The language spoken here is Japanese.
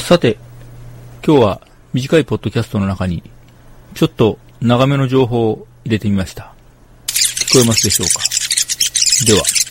さて、今日は短いポッドキャストの中に、ちょっと長めの情報を入れてみました。聞こえますでしょうか？では。